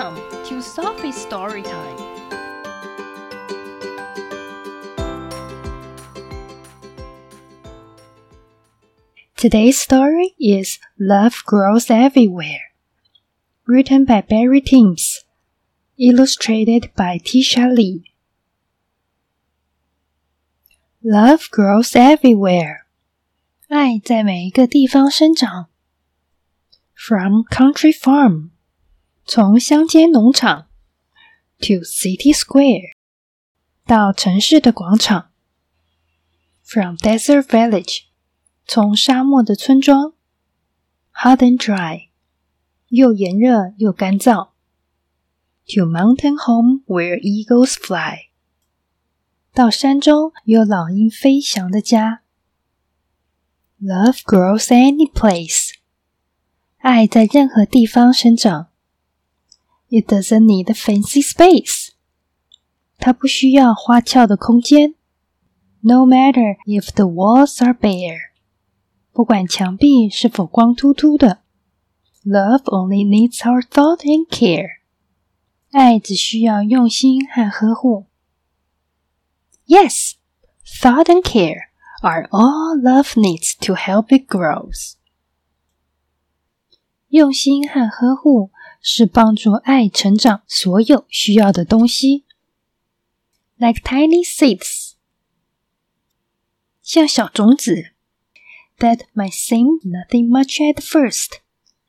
Welcome to Sophie's Story Time. Today's story is Love Grows Everywhere, written by Barry Timms, illustrated by Tisha Lee. Love grows everywhere. 爱在每一个地方生长。From country farm, 从乡间农场 to city square, 到城市的广场。From desert village, 从沙漠的村庄 hot and dry, 又炎热又干燥 to mountain home where eagles fly, 到山中有老鹰飞翔的家。Love grows any place, 爱在任何地方生长。It doesn't need a fancy space, 它不需要花俏的空间。No matter if the walls are bare, 不管墙壁是否光秃秃的。Love only needs our thought and care, 爱只需要用心和呵护。Yes, thought and care are all love needs to help it grows. 用心和呵护是帮助爱成长所有需要的东西。Like tiny seeds, 像小种子 that might seem nothing much at first.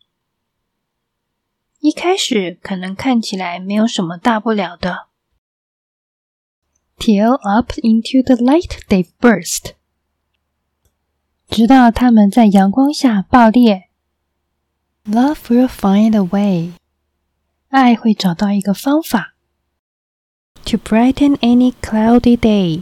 一开始可能看起来没有什么大不了的。Till up into the light they burst, 直到它们在阳光下爆裂。Love will find a way, 爱会找到一个方法。To brighten any cloudy day,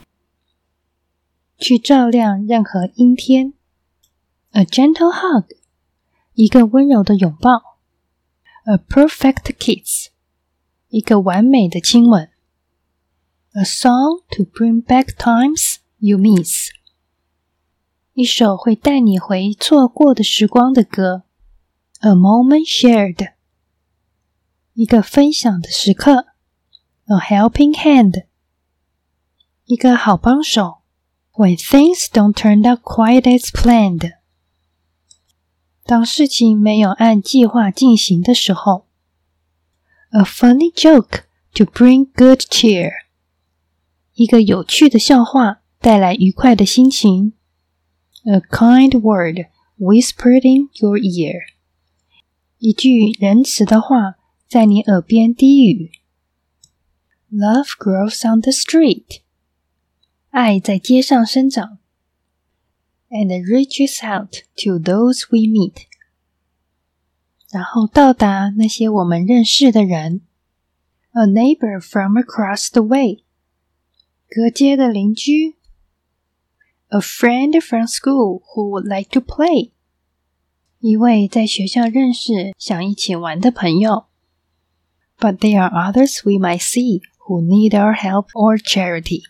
去照亮任何阴天。A gentle hug, 一个温柔的拥抱。A perfect kiss, 一个完美的亲吻。A song to bring back times you miss, 一首会带你回错过的时光的歌。A moment shared, 一个分享的时刻。A helping hand, 一个好帮手。When things don't turn out quite as planned, 当事情没有按计划进行的时候。A funny joke to bring good cheer, 一个有趣的笑话带来愉快的心情。A kind word whispered in your ear, 一句仁慈的话在你耳边低语。Love grows on the street, 爱在街上生长。And reaches out to those we meet, 然后到达那些我们认识的人。A neighbor from across the way, 隔街的邻居。A friend from school who would like to play, 一位在学校认识想一起玩的朋友。But there are others we might see who need our help or charity,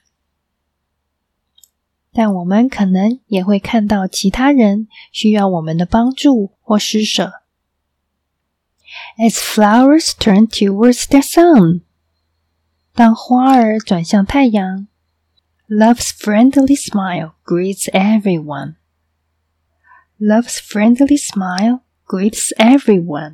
但我们可能也会看到其他人需要我们的帮助或施舍。As flowers turn towards the sun, 当花儿转向太阳。Love's friendly smile greets everyone. Love's friendly smile greets everyone.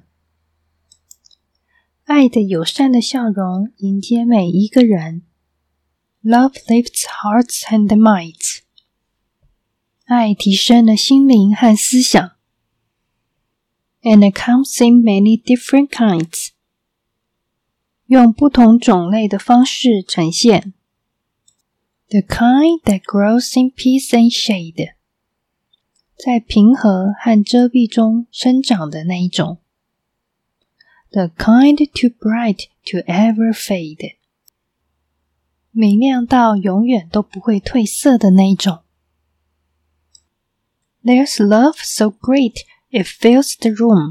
爱的友善的笑容迎接每一个人。Love lifts hearts and minds. 爱提升了心灵和思想。And it comes in many different kinds. 用不同种类的方式呈现。The kind that grows in peace and shade, 在平和和遮蔽中生长的那一种。The kind too bright to ever fade, 明亮到永远都不会褪色的那一种。There's love so great it fills the room,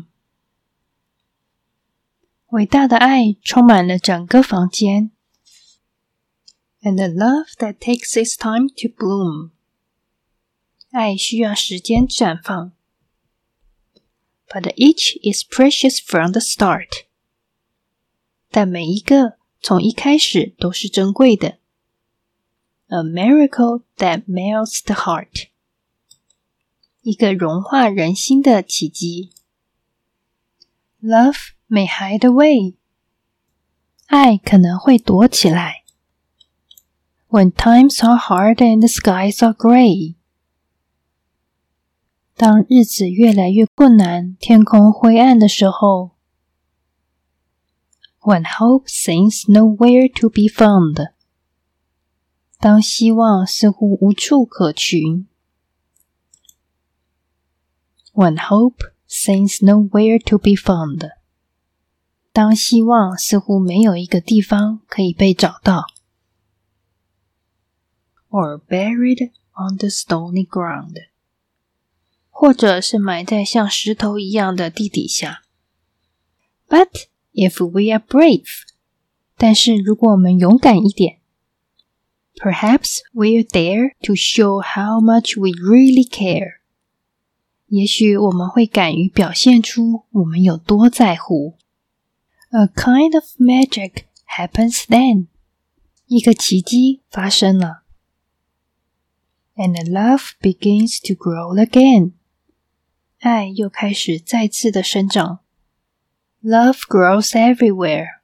伟大的爱充满了整个房间。And a love that takes its time to bloom, 爱需要时间绽放。But each is precious from the start, 但每一个从一开始都是珍贵的。A miracle that melts the heart. 一个融化人心的奇迹。Love may hide away. 爱可能会躲起来。When times are hard and the skies are gray. 当日子越来越困难，天空灰暗的时候。When hope seems nowhere to be found. 当希望似乎无处可寻。When hope seems nowhere to be found. 当希望似乎没有一个地方可以被找到。Or buried on the stony ground. 或者是埋在像石头一样的地底下。But if we are brave. 但是如果我们勇敢一点。Perhaps we're there to show how much we really care. 也许我们会敢于表现出我们有多在乎。A kind of magic happens then. 一个奇迹发生了。And love begins to grow again. 爱又开始再次的生长。Love grows everywhere.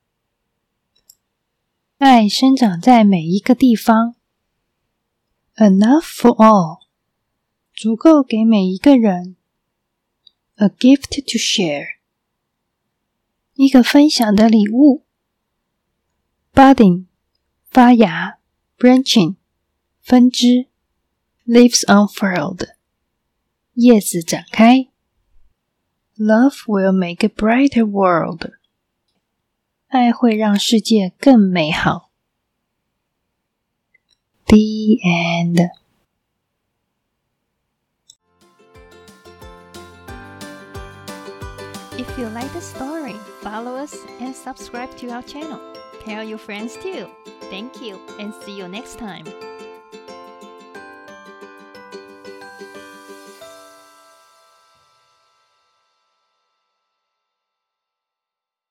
爱生长在每一个地方。Enough for all. 足够给每一个人。A gift to share. 一个分享的礼物。Budding. 发芽。Branching. 分支。Leaves unfurled. 叶子展开。Love will make a brighter world. 爱会让世界更美好。The end. If you like the story, follow us and subscribe to our channel. Tell your friends too. Thank you and see you next time.